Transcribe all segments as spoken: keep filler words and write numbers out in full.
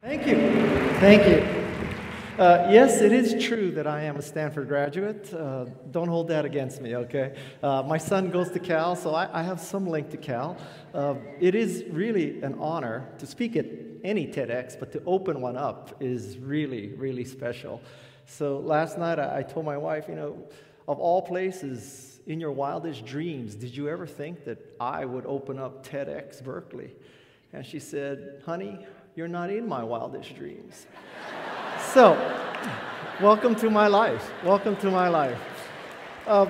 Thank you. Thank you. Uh, yes, it is true that I am a Stanford graduate. Uh, don't hold that against me, okay? Uh, my son goes to Cal, so I, I have some link to Cal. Uh, it is really an honor to speak at any TEDx, but to open one up is really, really special. So last night I, I told my wife, you know, of all places, in your wildest dreams, did you ever think that I would open up TEDx Berkeley? And she said, honey, you're not in my wildest dreams. So, welcome to my life. Welcome to my life. Uh,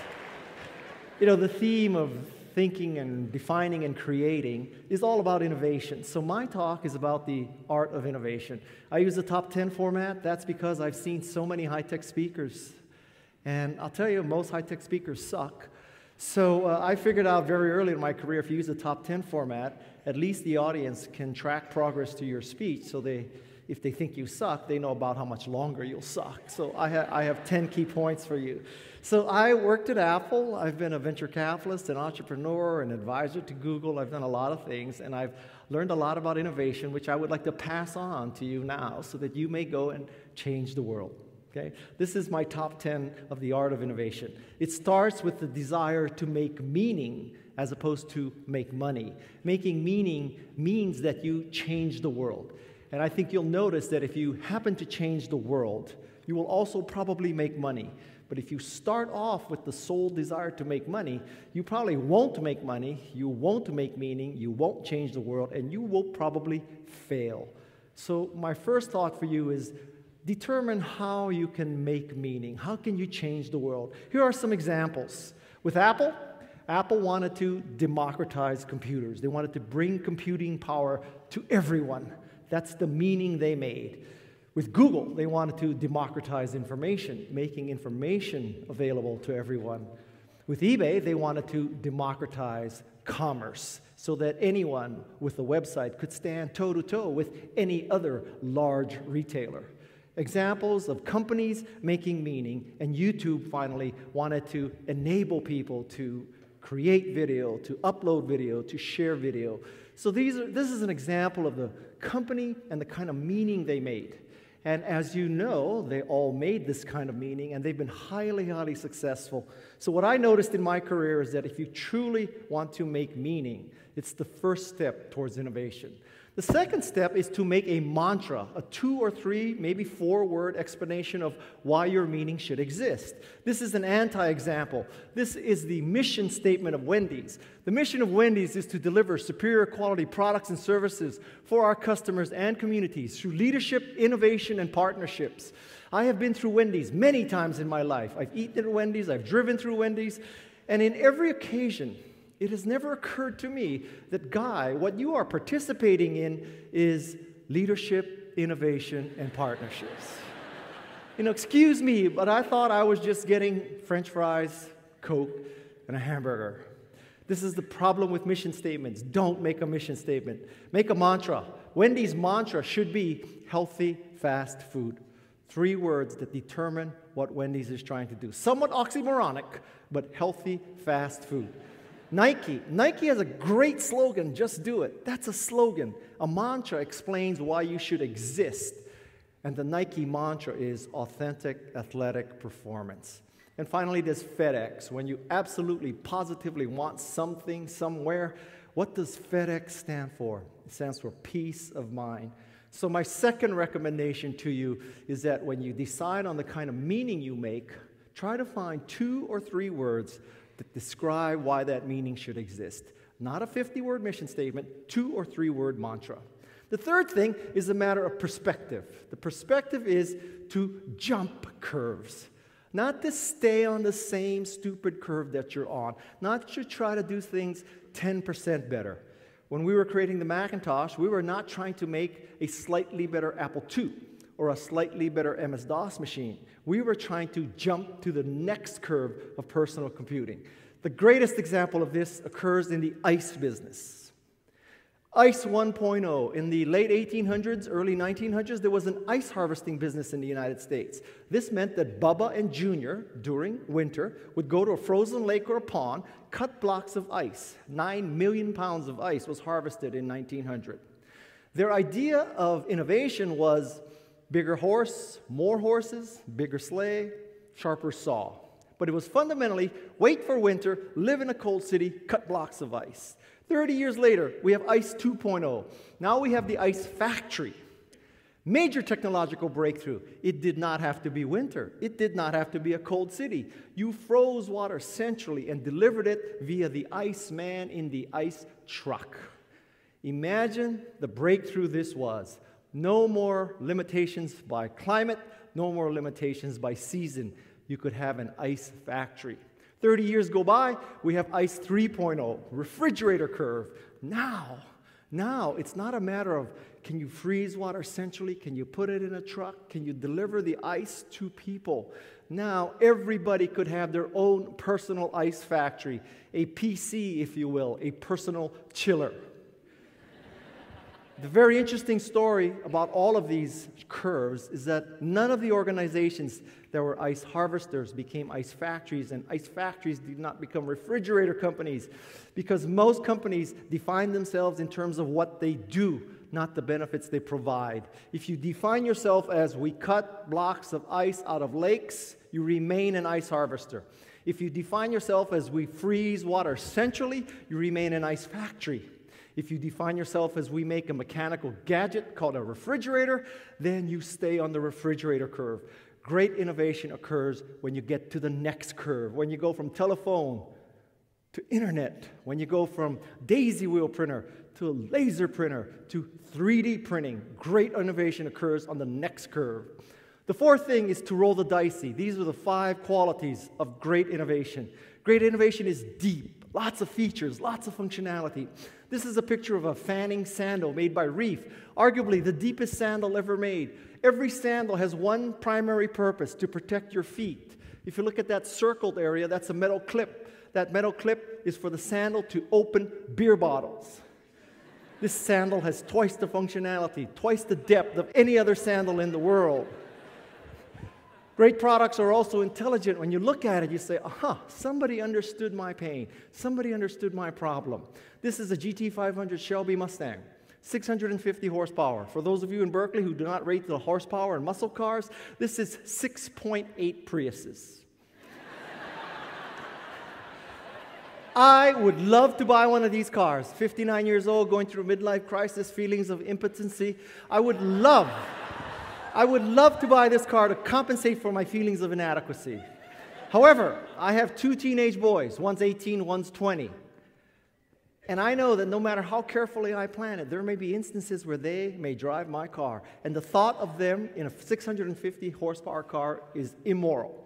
you know, the theme of thinking and defining and creating is all about innovation. So my talk is about the art of innovation. I use the top ten format. That's because I've seen so many high-tech speakers. And I'll tell you, most high-tech speakers suck. So uh, I figured out very early in my career, if you use the top ten format, at least the audience can track progress to your speech, so they, if they think you suck, they know about how much longer you'll suck. So I, ha I have ten key points for you. So I worked at Apple. I've been a venture capitalist, an entrepreneur, an advisor to Google. I've done a lot of things, and I've learned a lot about innovation, which I would like to pass on to you now so that you may go and change the world. Okay? This is my top ten of the art of innovation. It starts with the desire to make meaning as opposed to make money. Making meaning means that you change the world. And I think you'll notice that if you happen to change the world, you will also probably make money. But if you start off with the sole desire to make money, you probably won't make money, you won't make meaning, you won't change the world, and you will probably fail. So my first thought for you is, determine how you can make meaning. How can you change the world? Here are some examples. With Apple, Apple wanted to democratize computers. They wanted to bring computing power to everyone. That's the meaning they made. With Google, they wanted to democratize information, making information available to everyone. With eBay, they wanted to democratize commerce so that anyone with a website could stand toe-to-toe with any other large retailer. Examples of companies making meaning, and YouTube finally wanted to enable people to create video, to upload video, to share video. So these are, this is an example of the company and the kind of meaning they made. And as you know, they all made this kind of meaning, and they've been highly, highly successful. So what I noticed in my career is that if you truly want to make meaning, it's the first step towards innovation. The second step is to make a mantra, a two or three, maybe four-word explanation of why your meaning should exist. This is an anti-example. This is the mission statement of Wendy's. The mission of Wendy's is to deliver superior quality products and services for our customers and communities through leadership, innovation, and partnerships. I have been through Wendy's many times in my life. I've eaten at Wendy's, I've driven through Wendy's, and in every occasion, it has never occurred to me that, Guy, what you are participating in is leadership, innovation, and partnerships. You know, excuse me, but I thought I was just getting French fries, Coke, and a hamburger. This is the problem with mission statements. Don't make a mission statement. Make a mantra. Wendy's mantra should be healthy, fast food. Three words that determine what Wendy's is trying to do. Somewhat oxymoronic, but healthy, fast food. Nike. Nike has a great slogan, just do it. That's a slogan. A mantra explains why you should exist. And the Nike mantra is authentic athletic performance. And finally, there's FedEx. When you absolutely, positively want something somewhere, what does FedEx stand for? It stands for peace of mind. So my second recommendation to you is that when you decide on the kind of meaning you make, try to find two or three words that describe why that meaning should exist. Not a fifty-word mission statement, two or three-word mantra. The third thing is a matter of perspective. The perspective is to jump curves. Not to stay on the same stupid curve that you're on. Not to try to do things ten percent better. When we were creating the Macintosh, we were not trying to make a slightly better Apple two or a slightly better M S DOS machine. We were trying to jump to the next curve of personal computing. The greatest example of this occurs in the ice business. Ice one point oh. In the late eighteen hundreds, early nineteen hundreds, there was an ice harvesting business in the United States. This meant that Bubba and Junior, during winter, would go to a frozen lake or a pond, cut blocks of ice. Nine million pounds of ice was harvested in nineteen hundred. Their idea of innovation was bigger horse, more horses, bigger sleigh, sharper saw. But it was fundamentally wait for winter, live in a cold city, cut blocks of ice. thirty years later, we have Ice two point oh. Now we have the ice factory. Major technological breakthrough. It did not have to be winter. It did not have to be a cold city. You froze water centrally and delivered it via the Iceman in the ice truck. Imagine the breakthrough this was. No more limitations by climate, no more limitations by season. You could have an ice factory. thirty years go by, we have Ice three point oh, refrigerator curve. Now, now it's not a matter of can you freeze water centrally, can you put it in a truck, can you deliver the ice to people? Now everybody could have their own personal ice factory, a P C, if you will, a personal chiller. The very interesting story about all of these curves is that none of the organizations that were ice harvesters became ice factories, and ice factories did not become refrigerator companies, because most companies define themselves in terms of what they do, not the benefits they provide. If you define yourself as we cut blocks of ice out of lakes, you remain an ice harvester. If you define yourself as we freeze water centrally, you remain an ice factory. If you define yourself as we make a mechanical gadget called a refrigerator, then you stay on the refrigerator curve. Great innovation occurs when you get to the next curve, when you go from telephone to internet, when you go from daisy wheel printer to a laser printer to three D printing. Great innovation occurs on the next curve. The fourth thing is to roll the dice. These are the five qualities of great innovation. Great innovation is deep, lots of features, lots of functionality. This is a picture of a fanning sandal made by Reef, arguably the deepest sandal ever made. Every sandal has one primary purpose, to protect your feet. If you look at that circled area, that's a metal clip. That metal clip is for the sandal to open beer bottles. This sandal has twice the functionality, twice the depth of any other sandal in the world. Great products are also intelligent. When you look at it, you say, aha, somebody understood my pain. Somebody understood my problem. This is a G T five hundred Shelby Mustang, six hundred fifty horsepower. For those of you in Berkeley who do not rate the horsepower in muscle cars, this is six point eight Priuses. I would love to buy one of these cars. fifty-nine years old, going through a midlife crisis, feelings of impotency. I would love... I would love to buy this car to compensate for my feelings of inadequacy. However, I have two teenage boys. One's eighteen, one's twenty. And I know that no matter how carefully I plan it, there may be instances where they may drive my car. And the thought of them in a six hundred fifty horsepower car is immoral.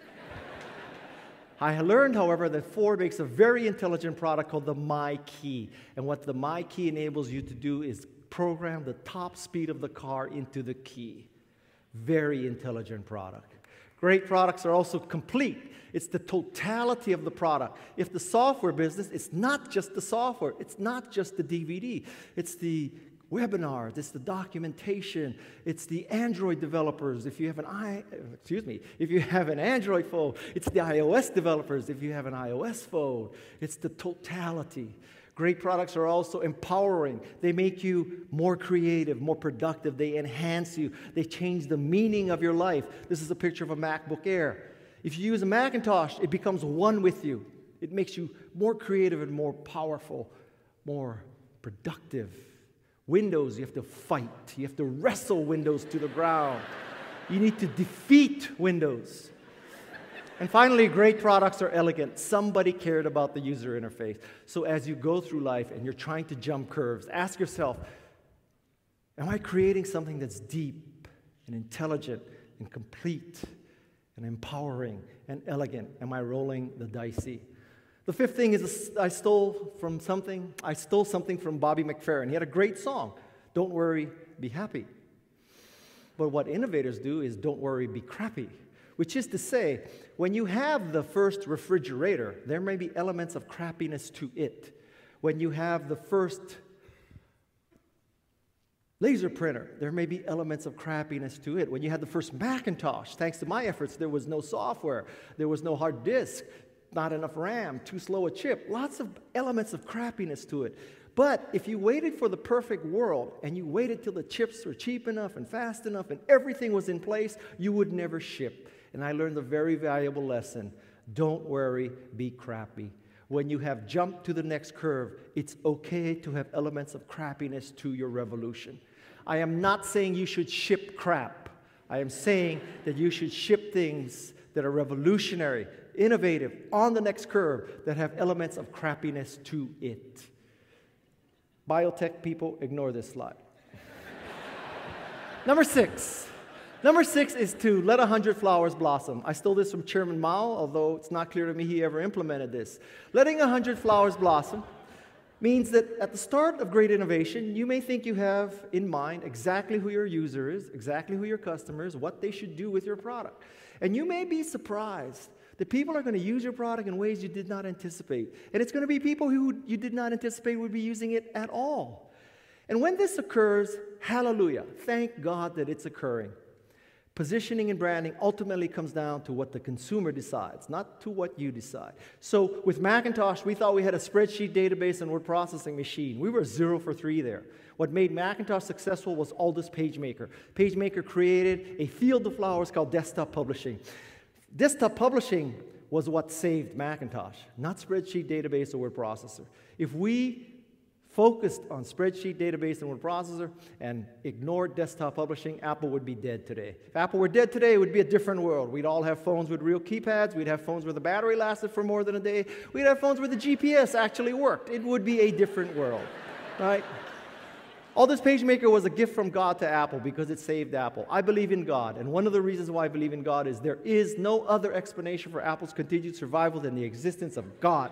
I learned, however, that Ford makes a very intelligent product called the MyKey. And what the MyKey enables you to do is program the top speed of the car into the key. Very intelligent product. Great products are also complete. It's the totality of the product. If the software business, it's not just the software. It's not just the D V D. It's the webinars. It's the documentation. It's the Android developers. If you have an i, excuse me, if you have an Android phone, it's the iOS developers. If you have an iOS phone, it's the totality. Great products are also empowering. They make you more creative, more productive. They enhance you. They change the meaning of your life. This is a picture of a MacBook Air. If you use a Macintosh, it becomes one with you. It makes you more creative and more powerful, more productive. Windows, you have to fight. You have to wrestle Windows to the ground. You need to defeat Windows. And finally, great products are elegant. Somebody cared about the user interface. So as you go through life and you're trying to jump curves, ask yourself, am I creating something that's deep and intelligent and complete and empowering and elegant? Am I rolling the dice? The fifth thing is I stole from something. I stole something from Bobby McFerrin. He had a great song, Don't Worry, Be Happy. But what innovators do is don't worry, be crappy. Which is to say, when you have the first refrigerator, there may be elements of crappiness to it. When you have the first laser printer, there may be elements of crappiness to it. When you had the first Macintosh, thanks to my efforts, there was no software, there was no hard disk, not enough RAM, too slow a chip, lots of elements of crappiness to it. But if you waited for the perfect world and you waited till the chips were cheap enough and fast enough and everything was in place, you would never ship. And I learned a very valuable lesson. Don't worry, be crappy. When you have jumped to the next curve, it's okay to have elements of crappiness to your revolution. I am not saying you should ship crap. I am saying that you should ship things that are revolutionary, innovative, on the next curve, that have elements of crappiness to it. Biotech people, ignore this slide. Number six. Number six is to let a hundred flowers blossom. I stole this from Chairman Mao, although it's not clear to me he ever implemented this. Letting a hundred flowers blossom means that at the start of great innovation, you may think you have in mind exactly who your user is, exactly who your customer is, what they should do with your product. And you may be surprised that people are going to use your product in ways you did not anticipate. And it's going to be people who you did not anticipate would be using it at all. And when this occurs, hallelujah, thank God that it's occurring. Positioning and branding ultimately comes down to what the consumer decides, not to what you decide. So with Macintosh, we thought we had a spreadsheet database and word processing machine. We were zero for three there. What made Macintosh successful was Aldus PageMaker. PageMaker created a field of flowers called desktop publishing. Desktop publishing was what saved Macintosh, not spreadsheet database or word processor. If we focused on spreadsheet database and word processor and ignored desktop publishing, Apple would be dead today. If Apple were dead today, it would be a different world. We'd all have phones with real keypads. We'd have phones where the battery lasted for more than a day. We'd have phones where the G P S actually worked. It would be a different world, right? Aldus PageMaker was a gift from God to Apple because it saved Apple. I believe in God, and one of the reasons why I believe in God is there is no other explanation for Apple's continued survival than the existence of God.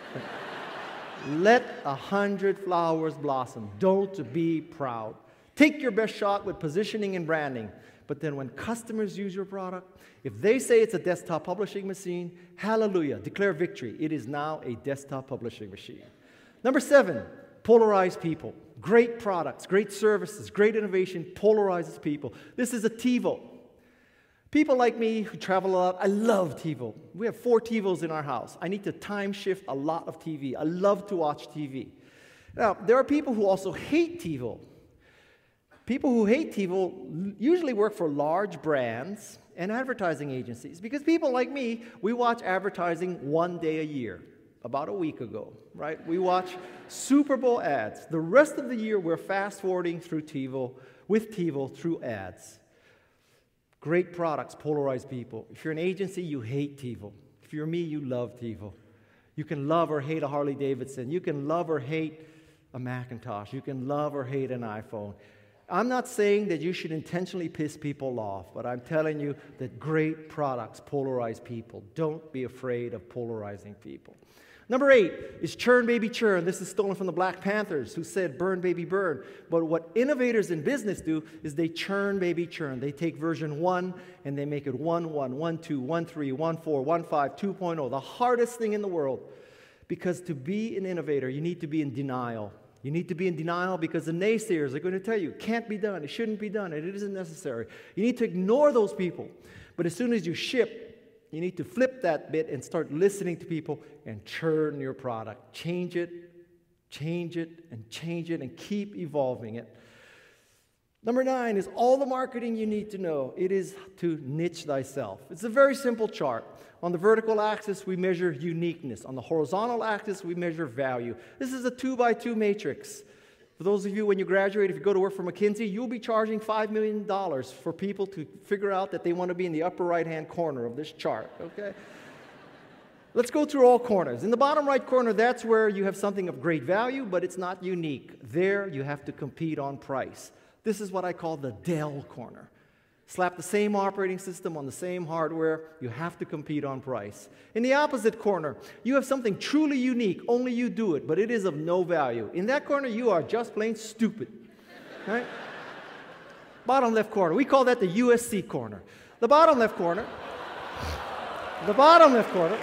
Let a hundred flowers blossom. Don't be proud. Take your best shot with positioning and branding. But then when customers use your product, if they say it's a desktop publishing machine, hallelujah, declare victory. It is now a desktop publishing machine. Number seven, polarize people. Great products, great services, great innovation polarizes people. This is a TiVo. People like me who travel a lot, I love TiVo. We have four TiVos in our house. I need to time shift a lot of T V. I love to watch T V. Now, there are people who also hate TiVo. People who hate TiVo usually work for large brands and advertising agencies because people like me, we watch advertising one day a year. About a week ago, right? We watch Super Bowl ads. The rest of the year, we're fast-forwarding through TiVo, with TiVo, through ads. Great products polarize people. If you're an agency, you hate TiVo. If you're me, you love TiVo. You can love or hate a Harley-Davidson. You can love or hate a Macintosh. You can love or hate an iPhone. I'm not saying that you should intentionally piss people off, but I'm telling you that great products polarize people. Don't be afraid of polarizing people. Number eight is churn, baby, churn. This is stolen from the Black Panthers, who said burn, baby, burn. But what innovators in business do is they churn, baby, churn. They take version one and they make it one, one, one, two, one, three, one, four, one, five, two point oh. The hardest thing in the world. Because to be an innovator, you need to be in denial. You need to be in denial because the naysayers are going to tell you it can't be done, it shouldn't be done, and it isn't necessary. You need to ignore those people. But as soon as you ship, you need to flip that bit and start listening to people and churn your product. Change it, change it, and change it, and keep evolving it. Number nine is all the marketing you need to know. It is to niche thyself. It's a very simple chart. On the vertical axis, we measure uniqueness. On the horizontal axis, we measure value. This is a two by two matrix. For those of you, when you graduate, if you go to work for McKinsey, you'll be charging five million dollars for people to figure out that they want to be in the upper right-hand corner of this chart, okay? Let's go through all corners. In the bottom right corner, that's where you have something of great value, but it's not unique. There, you have to compete on price. This is what I call the Dell corner. Slap the same operating system on the same hardware, you have to compete on price. In the opposite corner, you have something truly unique, only you do it, but it is of no value. In that corner, you are just plain stupid, right? Bottom left corner, we call that the U S C corner. The bottom left corner, the bottom left corner,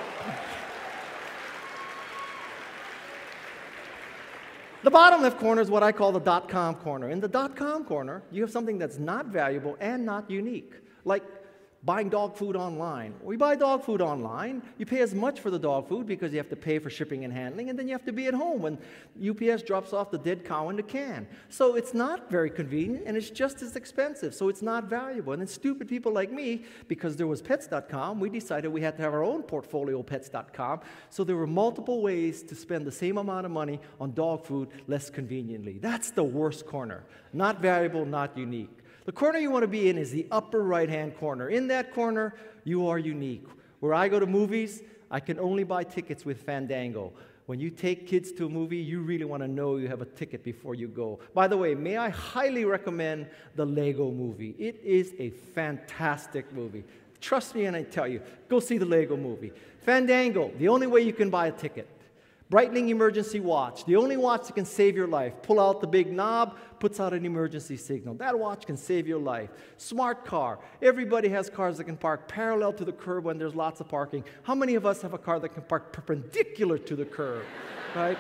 The bottom left corner is what I call the dot-com corner. In the dot-com corner, you have something that's not valuable and not unique, like buying dog food online. We buy dog food online. You pay as much for the dog food because you have to pay for shipping and handling, and then you have to be at home when U P S drops off the dead cow in the can. So it's not very convenient, and it's just as expensive, so it's not valuable. And then stupid people like me, because there was pets dot com, we decided we had to have our own portfolio, pets dot com, so there were multiple ways to spend the same amount of money on dog food less conveniently. That's the worst corner. Not valuable, not unique. The corner you want to be in is the upper right-hand corner. In that corner, you are unique. Where I go to movies, I can only buy tickets with Fandango. When you take kids to a movie, you really want to know you have a ticket before you go. By the way, may I highly recommend the Lego Movie. It is a fantastic movie. Trust me when I tell you, go see the Lego Movie. Fandango, the only way you can buy a ticket. Breitling emergency watch, the only watch that can save your life. Pull out the big knob, puts out an emergency signal. That watch can save your life. Smart car, everybody has cars that can park parallel to the curb when there's lots of parking. How many of us have a car that can park perpendicular to the curb, right?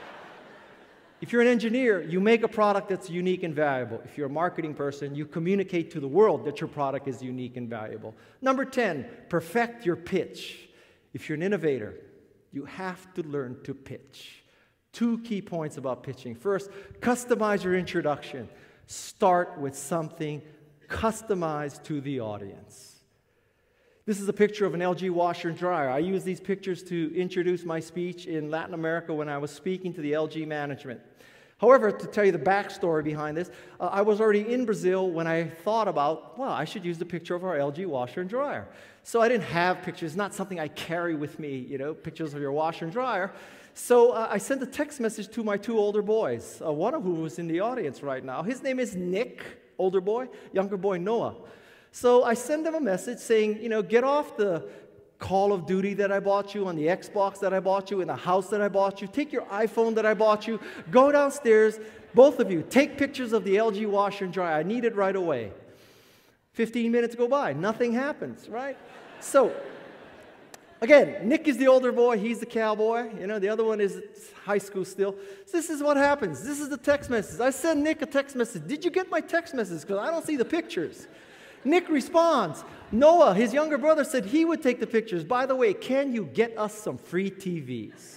If you're an engineer, you make a product that's unique and valuable. If you're a marketing person, you communicate to the world that your product is unique and valuable. Number ten, perfect your pitch. If you're an innovator, you have to learn to pitch. Two key points about pitching. First, customize your introduction. Start with something customized to the audience. This is a picture of an L G washer and dryer. I use these pictures to introduce my speech in Latin America when I was speaking to the L G management. However, to tell you the backstory behind this, uh, I was already in Brazil when I thought about, well, I should use the picture of our L G washer and dryer. So I didn't have pictures, not something I carry with me, you know, pictures of your washer and dryer. So uh, I sent a text message to my two older boys, uh, one of whom was in the audience right now. His name is Nick, older boy, younger boy Noah. So I send them a message saying, you know, get off the Call of Duty that I bought you, on the Xbox that I bought you, in the house that I bought you. Take your iPhone that I bought you. Go downstairs, both of you. Take pictures of the L G washer and dryer. I need it right away. fifteen minutes go by. Nothing happens, right? So, again, Nick is the older boy. He's the cowboy. You know, the other one is high school still. So this is what happens. This is the text message. I send Nick a text message. Did you get my text message? Because I don't see the pictures. Nick responds. Noah, his younger brother, said he would take the pictures. By the way, can you get us some free T Vs?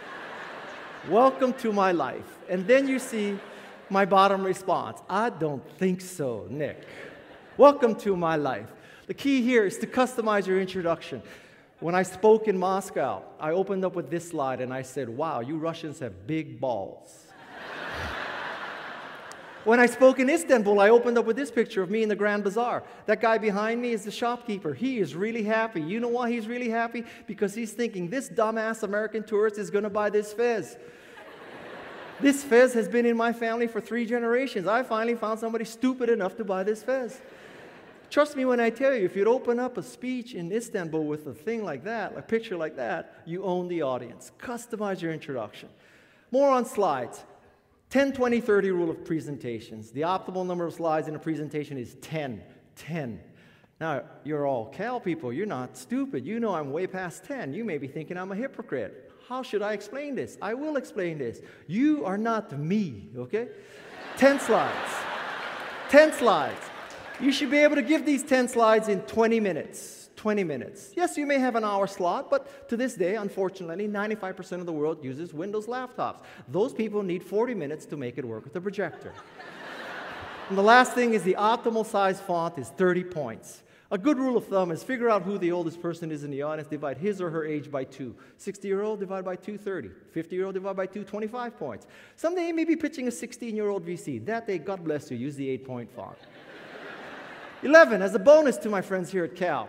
Welcome to my life. And then you see my bottom response. I don't think so, Nick. Welcome to my life. The key here is to customize your introduction. When I spoke in Moscow, I opened up with this slide and I said, wow, you Russians have big balls. When I spoke in Istanbul, I opened up with this picture of me in the Grand Bazaar. That guy behind me is the shopkeeper. He is really happy. You know why he's really happy? Because he's thinking, this dumbass American tourist is going to buy this fez. This fez has been in my family for three generations. I finally found somebody stupid enough to buy this fez. Trust me when I tell you, if you'd open up a speech in Istanbul with a thing like that, a picture like that, you own the audience. Customize your introduction. More on slides. ten, twenty, thirty rule of presentations. The optimal number of slides in a presentation is ten. ten. Now, you're all Cal people. You're not stupid. You know I'm way past ten. You may be thinking I'm a hypocrite. How should I explain this? I will explain this. You are not me, okay? ten slides. ten slides. You should be able to give these ten slides in twenty minutes. twenty minutes. Yes, you may have an hour slot, but to this day, unfortunately, ninety-five percent of the world uses Windows laptops. Those people need forty minutes to make it work with the projector. And the last thing is the optimal size font is thirty points. A good rule of thumb is figure out who the oldest person is in the audience, divide his or her age by two. sixty-year-old divided by two, thirty. fifty-year-old divided by two, twenty-five points. Someday you may be pitching a sixteen-year-old V C. That day, God bless you, use the eight-point font. eleven, as a bonus to my friends here at Cal.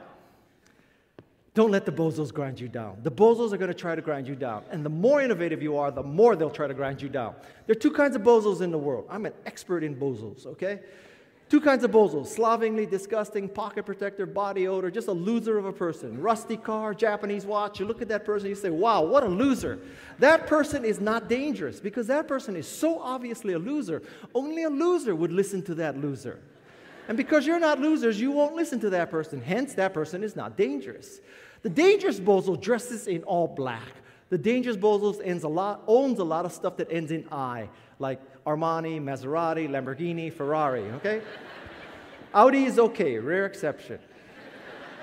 Don't let the bozos grind you down. The bozos are going to try to grind you down. And the more innovative you are, the more they'll try to grind you down. There are two kinds of bozos in the world. I'm an expert in bozos, okay? Two kinds of bozos. Slovenly, disgusting, pocket protector, body odor, just a loser of a person. Rusty car, Japanese watch. You look at that person, you say, wow, what a loser. That person is not dangerous because that person is so obviously a loser. Only a loser would listen to that loser. And because you're not losers, you won't listen to that person. Hence, that person is not dangerous. The dangerous bozo dresses in all black. The dangerous bozo owns a lot, owns a lot of stuff that ends in I, like Armani, Maserati, Lamborghini, Ferrari, okay? Audi is okay, rare exception.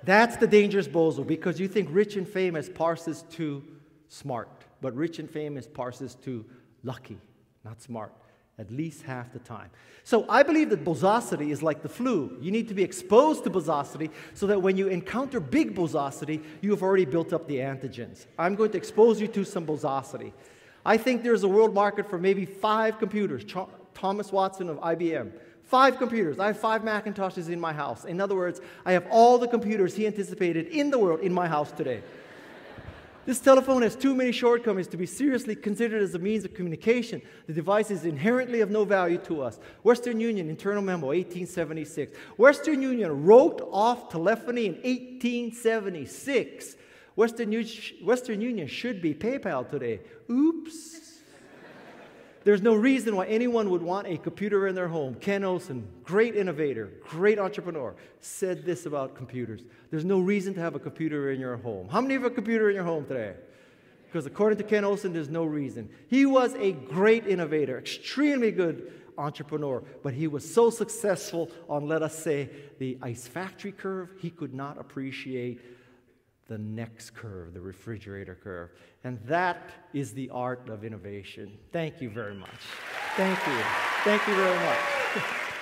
That's the dangerous bozo, because you think rich and famous parses to smart, but rich and famous parses to lucky, not smart, at least half the time. So I believe that bozosity is like the flu. You need to be exposed to bozosity so that when you encounter big bozosity, you have already built up the antigens. I'm going to expose you to some bozosity. I think there's a world market for maybe five computers. Ch- Thomas Watson of I B M. Five computers. I have five Macintoshes in my house. In other words, I have all the computers he anticipated in the world in my house today. This telephone has too many shortcomings to be seriously considered as a means of communication. The device is inherently of no value to us. Western Union, internal memo, eighteen seventy-six. Western Union wrote off telephony in eighteen seventy-six. Western, U- Western Union should be PayPal today. Oops. There's no reason why anyone would want a computer in their home. Ken Olsen, great innovator, great entrepreneur, said this about computers. There's no reason to have a computer in your home. How many have a computer in your home today? Because according to Ken Olsen, there's no reason. He was a great innovator, extremely good entrepreneur, but he was so successful on, let us say, the ice factory curve, he could not appreciate the next curve, the refrigerator curve. And that is the art of innovation. Thank you very much. Thank you. Thank you very much.